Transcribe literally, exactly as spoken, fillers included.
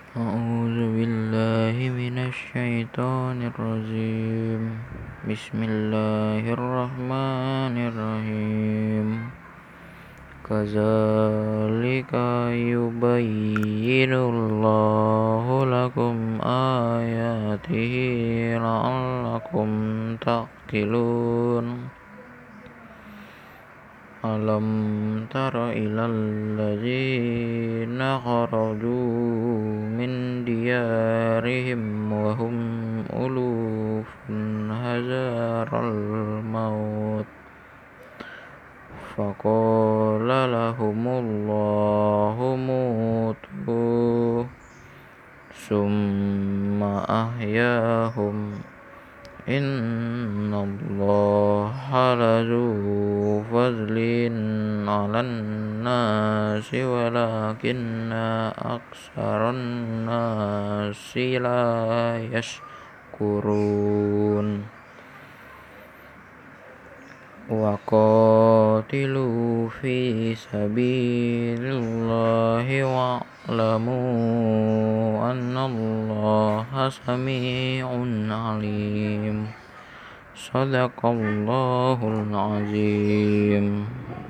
أعوذ بالله من الشيطان الرجيم بسم الله الرحمن الرحيم كذلك يبين الله لكم آياته لعلكم تعقلون ألم تر إلى الذين خرجوا من ديارهم وهم ألوف حذر الموت فقال لهم الله موتوا ثم أحياهم إن الله لذو فضل على الناس ولكن أكثر الناس لا يشكرون وقاتلوا في سبيل الله واعلموا أن الله سميع عليم صدق الله العظيم.